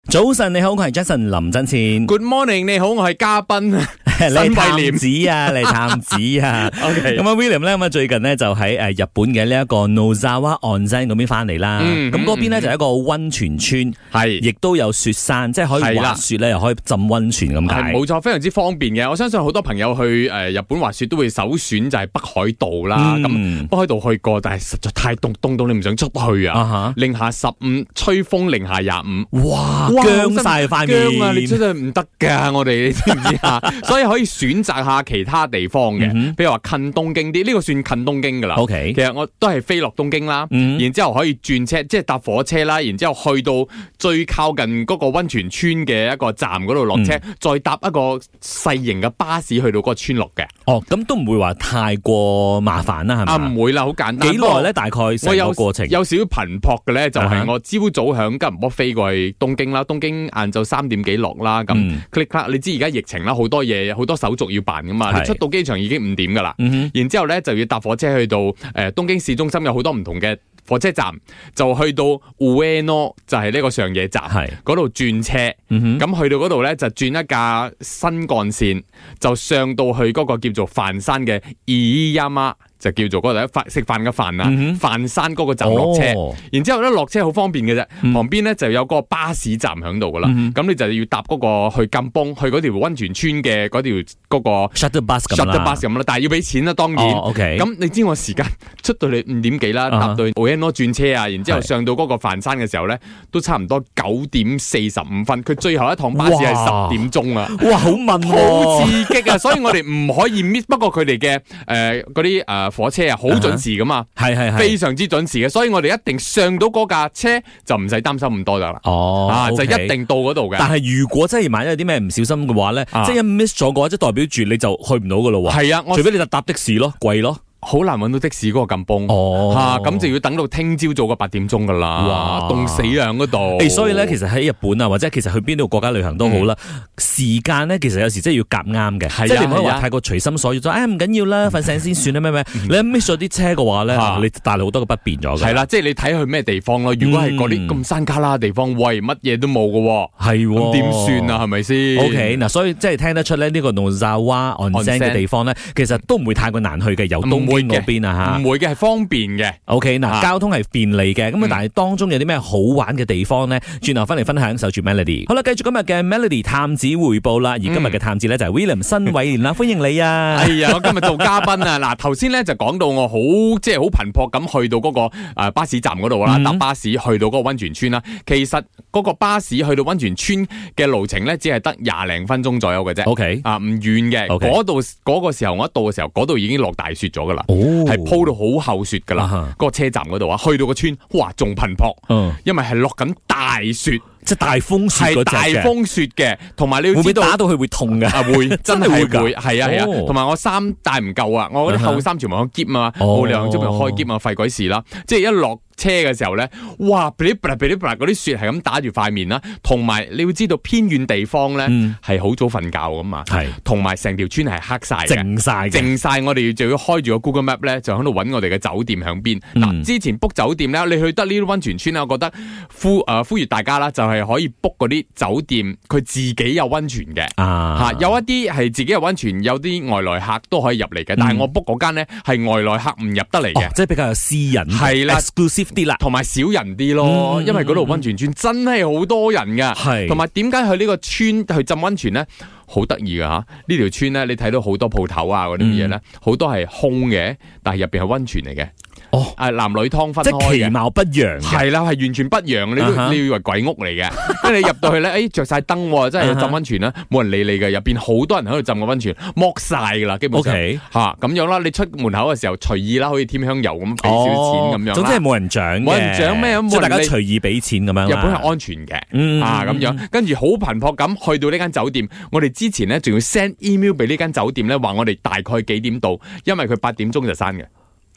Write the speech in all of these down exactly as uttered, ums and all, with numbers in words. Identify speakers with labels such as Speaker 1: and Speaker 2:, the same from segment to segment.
Speaker 1: 早晨你好，我係 Jason 林振前。
Speaker 2: Good morning， 你好，我係嘉賓
Speaker 1: 你探子啊，你探子啊。
Speaker 2: OK，
Speaker 1: 咁啊 William 咧，咁啊最近呢，就喺誒日本嘅呢一個 Nozawa Onsen 嗰邊翻嚟啦。咁嗰邊咧就係一個溫泉村，係亦都有雪山，即係可以滑雪咧，又可以浸溫泉咁解。
Speaker 2: 冇錯，非常之方便嘅。我相信好多朋友去誒日本滑雪都會首選就係北海道啦。咁、嗯、北海道去過，但係實在太凍，凍到你唔想出去啊！零下十五，吹風零下廿五，哇！僵晒塊面啊！你出去唔得噶，我哋你知唔知啊？所以可以選擇下其他地方嘅，譬、嗯、如話近東京啲，呢、這個算近東京噶啦。OK， 其實我都係飛落東京啦，嗯、然之後可以轉車，即係搭火車啦，然之後去到最靠近嗰個溫泉村嘅一個站嗰度落車、嗯，再搭一個細型嘅巴士去到嗰個村落嘅。哦，咁都唔會話太過麻煩啦，係咪？啊，唔會啦，好簡單。幾耐咧？大概成個過程？有，有少少頻撲嘅咧，就係、是、我朝早響吉隆坡飛過去東京啦，東京晏晝三點幾落啦，咁 click 你知而家疫情啦，好多嘢好多手續要辦噶嘛，你出到機場已經五點噶啦、嗯，然之後咧就要搭火車去到誒、呃、東京市中心，有好多唔同嘅火車站，就去到 Ueno 就係呢個上野站，嗰度轉車，咁、嗯、去到嗰度咧就轉一架新幹線，就上到去嗰個叫做飯山嘅 Iiyama。就叫做嗰度食飯嘅飯啊，飯、嗯、山嗰個站落車，哦、然之後咧落車好方便嘅啫、嗯，旁邊咧就有個巴士站喺度噶啦，咁、嗯、你就要搭嗰個去金崩去嗰條溫泉村嘅嗰條嗰個 shuttle bus 咁啦 ，shuttle bus 咁啦，但係要俾錢啦，當然。咁、哦 okay、你知我時間出到嚟五點幾啦，搭到 Ueno 轉車啊，然之後上到嗰個飯山嘅時候咧，都差唔多九點四十五分，佢最後一趟巴士係十點鐘啊！哇，好慢，好刺激啊！所以我哋唔可以 miss。不過佢哋嘅誒嗰啲誒。火車啊，好準時噶嘛，係係係，非常之準時嘅，所以我哋一定上到嗰架車就唔使擔心咁多噶啦。哦，啊，就一定到嗰度嘅。但係如果真係萬一有啲咩唔小心嘅話咧，啊、即係一 miss 咗嘅話，即係代表住你就去唔到噶咯喎。係啊，除非你就搭的士咯，貴咯。好難揾到的士嗰個咁崩，吓、哦、咁、啊、就要等到聽朝早個八點鐘噶啦，哇，凍死啊嗰度！誒，所以咧，其實喺日本啊，或者其實去邊度國家旅行都好啦、嗯，時間咧其實有時真係要夾啱嘅，即係你唔可以話太過隨心所欲，就誒唔緊要啦，瞓醒先算啦咩咩，你一 miss 咗啲車嘅話咧、啊，你帶嚟好多嘅不便咗嘅。係啦，即係你睇去咩地方咯？如果係嗰啲咁山卡拉嘅地方，喂，乜嘢都冇嘅，係咁點算啊？係咪先 ？OK， 嗱，所以即係聽得出咧，呢個 Nozawa Onsen 嘅地方咧，其實都唔會太過難去嘅，有東京嗰邊啊吓，唔會嘅，係方便嘅。OK， 嗱、啊，交通係便利嘅，咁、嗯、啊，但係當中有啲咩好玩嘅地方咧？轉頭翻嚟分享，守住 Melody。好啦，繼續今日嘅 Melody 探子回報啦。而今日嘅探子咧就係 William 新偉廉啦，歡迎你啊！哎呀，我今日做嘉賓啊！嗱，頭先咧就講到我好即係好頻撲咁去到嗰個誒巴士站嗰度啦，搭、嗯、巴士去到嗰個溫泉村啦。其實嗰個巴士去到溫泉村嘅路程咧，只係得廿零分鐘左右嘅啫。OK， 啊，唔遠嘅。嗰度嗰個時候我一到嘅時候，嗰度已經落大雪咗噶啦。哦，係鋪到好厚雪噶啦，嗰、uh-huh. 個車站嗰度啊，去到個村，哇，仲頻撲，嗯，因為係落緊大雪，即係大風雪嗰隻嘅，係大風雪嘅，同埋你要知道會唔會打到佢會痛嘅？啊，會，真係會㗎，係啊係啊，同埋、哦、我衫帶唔夠啊，我嗰啲厚衫全部開篋啊，冇理由即係開篋啊，費鬼事啦，即係一落車嘅時候咧，哇！噼里啪啦噼里啪啦嗰啲雪係咁打住塊面啦，同埋你要知道偏遠地方咧係好早瞓覺噶嘛，係，同埋成條村係黑晒嘅，靜晒，靜晒，我哋就要開住個 Google Map 咧，就喺度揾我哋嘅酒店響邊。嗱、嗯，之前 book 酒店咧，你去得呢啲溫泉村咧，我覺得呼誒、呃、呼籲大家啦，就係可以 book 嗰啲酒店，佢自己有溫泉嘅，啊吓，有一啲係自己有溫泉，有啲外來客都可以入嚟嘅、嗯，但係我 book 嗰間咧係外來客唔入得嚟嘅、哦，即係比較有私隱，係啦 ，exclusive。啲啦，同埋少人啲咯、嗯，因為嗰度溫泉村真係好多人噶，係，同埋點解去呢個村去浸溫泉咧？好得意噶吓，呢條村咧，你睇到好多鋪頭啊，嗰啲嘢咧，好多係空嘅，但係入邊係溫泉嚟嘅。哦，誒，男女湯分開嘅，即係其貌不揚，係啦，係完全不揚，你都、uh-huh. 你以為鬼屋嚟嘅，跟住你入到去咧，誒，着晒燈，真係浸溫泉啦，冇、uh-huh. 人理你嘅，入邊好多人喺度浸個溫泉，剝晒噶啦，基本上，吓、okay. 咁、啊、樣啦，你出門口嘅時候隨意啦，可以添香油咁，俾少錢咁、哦、樣，總之係冇人獎嘅，冇人獎咩，即係大家隨意俾錢咁樣。日本係安全嘅、嗯，啊咁樣，跟住好頻撲咁去到呢間酒店，我哋之前咧仲要 send email 俾呢間酒店咧，話我哋大概幾點到，因為佢八點鐘就閂嘅。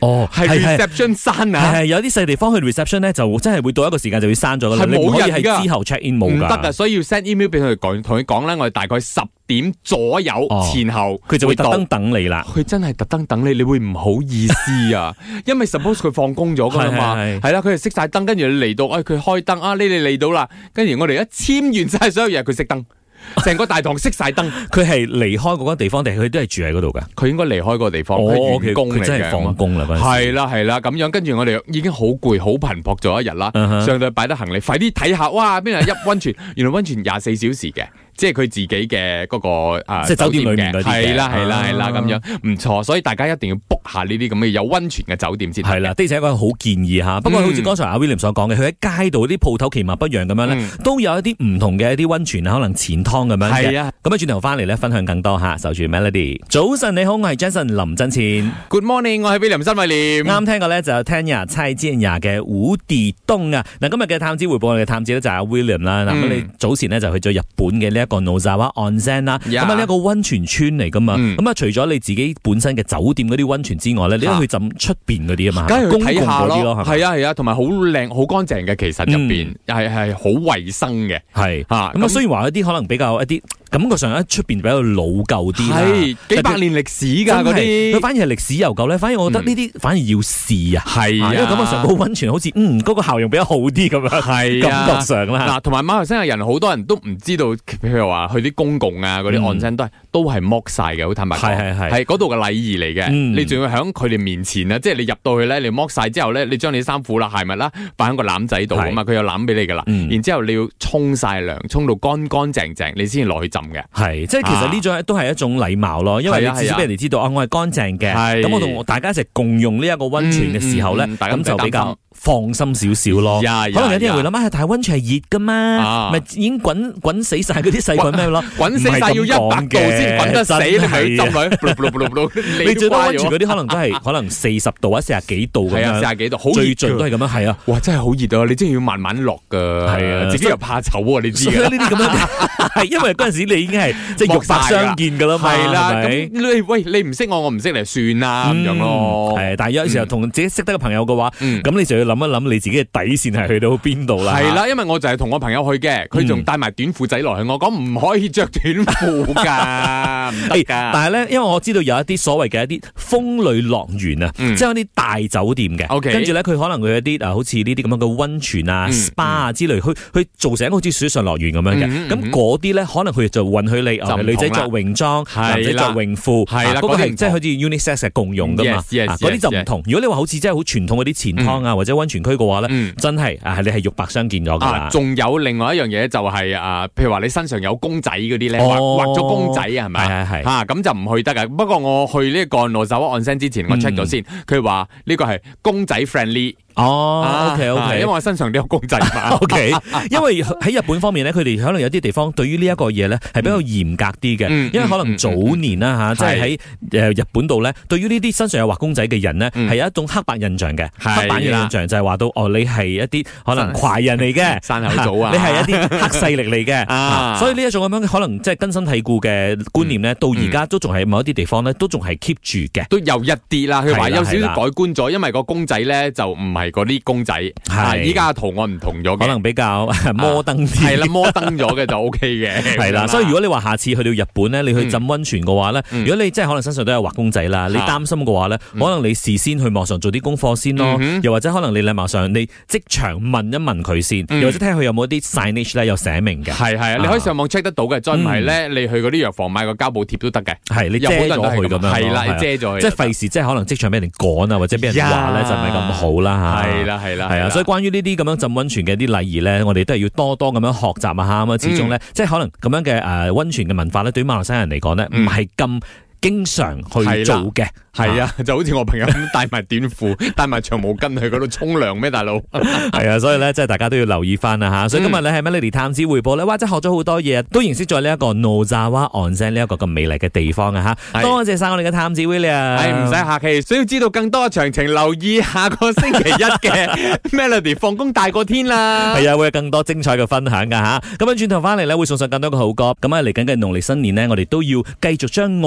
Speaker 2: 哦，係 reception 閂啊，
Speaker 1: 係有啲細地方去 reception 咧，就真係會到一個時間就會閂咗噶啦，
Speaker 2: 係冇人
Speaker 1: 㗎，係之後 check in 冇㗎，
Speaker 2: 唔得啊，所以要 send email 俾佢哋講，同佢講咧，我哋大概十點左右前後，
Speaker 1: 佢就會特登等你啦。
Speaker 2: 佢真係特登等你，你會唔好意思啊？因為 suppose 佢放工咗噶啦嘛，係啦，佢哋熄晒燈，跟住你嚟到，哎，佢開燈啊，你哋嚟到啦，跟住我哋一簽完晒所有嘢，佢熄燈。成個大堂熄晒燈，
Speaker 1: 佢係離開嗰個地方定係佢都係住喺嗰度噶？
Speaker 2: 佢應該離開嗰個地方，佢員工嚟嘅，
Speaker 1: 佢真係放工啦。
Speaker 2: 係啦係啦，咁樣跟住我哋已經好攰好頻撲咗一日啦， uh-huh. 上到去擺得行李，快啲睇下，哇！邊度入溫泉？原來溫泉廿四小時嘅。即係佢自己嘅嗰、那個啊，
Speaker 1: 即係酒店裏面嗰啲嘅，
Speaker 2: 係啦係啦係啦咁樣，唔錯，所以大家一定要 book 下呢啲咁嘅有溫泉嘅酒店先。
Speaker 1: 係啦，的而且確好建議吓。不過好似剛才阿 William 所講嘅，佢喺街度啲鋪頭其貌不揚咁樣咧、嗯，都有一啲唔同嘅一啲溫泉啊，可能錢湯咁樣嘅。係啊，咁啊轉頭翻嚟咧，分享更多吓，守住 Melody。早晨你好，我係 Jason 林振前。
Speaker 2: Good morning， 我係 William 新偉廉。
Speaker 1: 啱聽過咧就 Tanya 蔡健雅嘅無底洞啊。嗱，今日嘅探子回報，我哋嘅探子咧就係阿 William 啦。嗱、嗯，咁你早前咧就去咗日本嘅呢一個 Nozawa Onsen 啦，咁啊呢一個溫泉村嚟噶嘛，咁、嗯、啊除咗你自己本身嘅酒店嗰啲溫泉之外咧，你都去浸出邊嗰啲啊嘛，
Speaker 2: 梗係去睇下
Speaker 1: 咯，
Speaker 2: 係啊係啊，同埋好靚好乾淨嘅，其實入邊係係好衛生嘅，係啊，咁啊雖然話一啲可能比較一啲。感覺上喺出邊比較老舊啲啦，係幾百年歷史噶嗰啲，佢反而係歷史悠久咧。反而我覺得呢啲反而要試啊，係啊，因為感覺上個溫泉好似嗯嗰、那個效用比較好啲咁樣，係感覺上啦。嗱，同埋馬來西亞人好多人都唔知道，譬如話去啲公共啊嗰啲岸身都係都係剝晒嘅，好坦白講，係係係，係嗰度嘅禮儀嚟嘅。你仲要喺佢哋面前啊，即係你入到去咧，你剝晒之後咧，你將你衫褲啦、鞋襪啦擺喺個籃仔度啊嘛，佢有籃俾你噶啦。然之後你要沖晒涼，沖到乾乾淨淨，你先至落去浸嘅。係，即係其實呢種都係一種禮貌咯，因為你至少俾人哋知道啊，我係乾淨嘅，咁我同大家一齊共用呢一個溫泉嘅時候咧，咁、嗯嗯、就比較放心少少咯。可能有啲人會諗啊，但係溫泉係熱噶嘛，咪、啊、已經滾滾死晒嗰啲細菌咩咯？滾死晒要一百度先滾得死，你咪浸佢。你最多溫泉嗰啲可能都係可能四十度或者四十幾度咁樣，四十幾度，好最盡都係咁樣。係啊，哇，真係好熱啊！你真係要慢慢落噶，係啊，自己又怕醜啊，你知嘅。呢啲咁樣係因為嗰陣時你已經係。即係肉白相見噶啦嘛，係啦。咁你喂你唔識我，我唔識你，算啦咁、嗯、樣咯。係，但係有時候同自己識得嘅朋友嘅話，咁、嗯、你就要諗一諗你自己嘅底線係去到邊度啦。係啦，因為我就係同我朋友去嘅，佢仲帶埋短褲仔落去，我講唔可以着短褲噶，唔得噶。但係咧，因為我知道有一啲所謂嘅一啲風呂樂園啊，即係有啲大酒店嘅，跟住咧佢可能會有一啲啊，好似呢啲咁樣嘅溫泉啊、嗯、SPA 啊之類，去去做成好似水上樂園咁樣嘅。咁嗰啲咧，可能佢就允許你。女仔着泳裝，男仔着泳褲，係啦，嗰個係即係好似 unisex 嘅共用噶嘛，嗰啲就唔同。如果你話好似真係好傳統嗰啲錢湯啊或者溫泉區嘅話咧，真係啊，你係肉白相見咗噶啦。仲有另外一樣嘢就係啊，譬如話你身上有公仔嗰啲咧，畫畫咗公仔啊，係咪？係係吓咁就唔去得噶。不過我去呢個 Nozawa Onsen之前，我 check 咗先，佢話呢個係公仔 friendly。哦 ，OK OK，因為我身上都有公仔嘛。OK，因為喺日本方面咧，佢哋可能有啲地方對於呢一個嘢咧係比較嚴格啲嘅、嗯，因為可能早年啦吓，即係喺誒日本度咧，對於呢啲身上有畫公仔嘅人咧，係、嗯、有一種刻板印象嘅，刻板印象就係話到哦，你係一啲可能怪人嚟嘅，山口組啊，你係一啲黑勢力嚟嘅、啊，所以呢一種咁樣可能即係根深蒂固嘅觀念咧、嗯，到而家都仲係某一啲地方咧，都仲係 keep 住嘅，都有一啲啦，佢話有少少改觀咗，因為個公仔咧就唔係。係嗰啲公仔，係依家圖案唔同咗，可能比較摩登啲，係啦，摩登咗嘅就 O K 嘅，係啦。所以如果你話下次去到日本咧，你去浸溫泉嘅話咧、嗯，如果你真係可能身上都有畫公仔啦、嗯，你擔心嘅話咧、嗯，可能你事先去網上做啲功課先咯、嗯，又或者可能你禮貌上你即場問一問佢先、嗯，又或者睇下佢有冇啲 signage 咧有寫明嘅，係係啊，你可以上網 check 得到嘅，再唔係咧，你去嗰啲藥房買個膠布貼都得嘅，係你遮咗佢咁樣，係啦，遮咗佢，即係費事即係可能即場俾人趕啊，或者俾人話咧就唔係咁好啦吓。係啦，係啦，係啊，所以關於呢啲咁樣浸溫泉嘅啲禮儀咧，我哋都係要多多咁樣學習啊吓，咁啊，始終咧、嗯，即係可能咁樣嘅誒溫泉嘅文化咧，對於馬來西亞人嚟講咧，唔係咁經常去做嘅。係啊，就好似我朋友咁帶埋短褲、帶埋長毛巾去嗰度沖涼咩，大佬？係啊，所以咧，即係大家都要留意翻啦吓。所以今日咧係 Melody 探子回報咧，哇，真係學咗好多嘢，都認識咗呢一個 Nozawa Onsen 呢一個咁美麗嘅地方啊吓。多謝晒我哋嘅探子 William，係唔使客氣。想要知道更多嘅詳情，留意下個星期一嘅 Melody 放工大過天啦。係啊，會有更多精彩嘅分享噶吓。咁樣轉頭翻嚟咧，會送上更多嘅好歌。咁啊，嚟緊嘅農曆新年呢，我哋都要繼續將愛咧散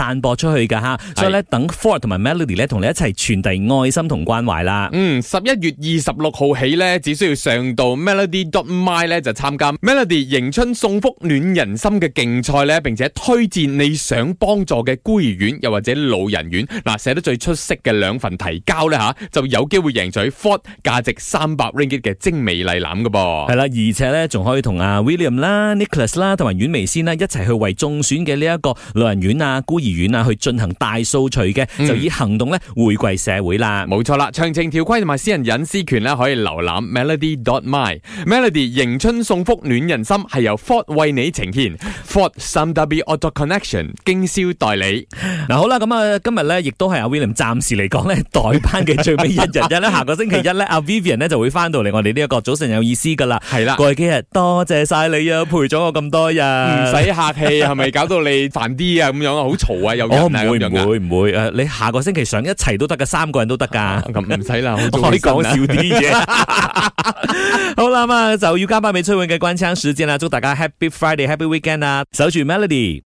Speaker 1: 散播出去噶吓，所以咧等 Ford 同埋 Melody 咧同你一齊傳遞愛心同關懷啦。
Speaker 2: 嗯，十一月二十六號起咧，只需要上到 melody dot my 咧就參加 Melody 迎春送福暖人心嘅競賽咧，並且推薦你想幫助嘅孤兒院又或者老人院，嗱寫得最出色嘅兩份提交咧吓，就有機會贏取 Ford 價值三百 ringgit 嘅精美禮籃噶噃。
Speaker 1: 係啦，而且咧仲可以同阿 William 啦、Nicholas 啦同埋阮微仙啦一齊去為中選嘅呢一個老人院啊、孤兒院啊去進行大掃除嘅，嗯、就以行動咧回饋社會啦。
Speaker 2: 冇錯啦，詳情條規同埋私人隱私權咧可以瀏覽 melody dot my。Melody 迎春送福暖人心係由 Ford 為你呈現 ，Ford Sam W Auto Connection 經銷代理。
Speaker 1: 嗱好啦，咁啊今日咧亦都係阿 William 暫時嚟講咧代班嘅最尾一日日咧，下個星期一咧阿 Vivian 咧就會翻到嚟我哋呢一個早晨有意思噶啦。
Speaker 2: 係啦，
Speaker 1: 過去幾日多謝晒你啊，陪咗我咁多日，
Speaker 2: 唔使客氣，係咪搞到你煩啲啊？咁樣啊，好嘈啊，有人啊咁樣噶。
Speaker 1: 唔會唔會誒，你下個星期上一齊都得噶，三個人都得噶。
Speaker 2: 咁唔使啦，
Speaker 1: 可以講笑啲嘢。好啦，咁啊就要交翻俾崔永嘅關槍時間啦，祝大家 Happy Friday、Happy Weekend 啊，守住 Melody。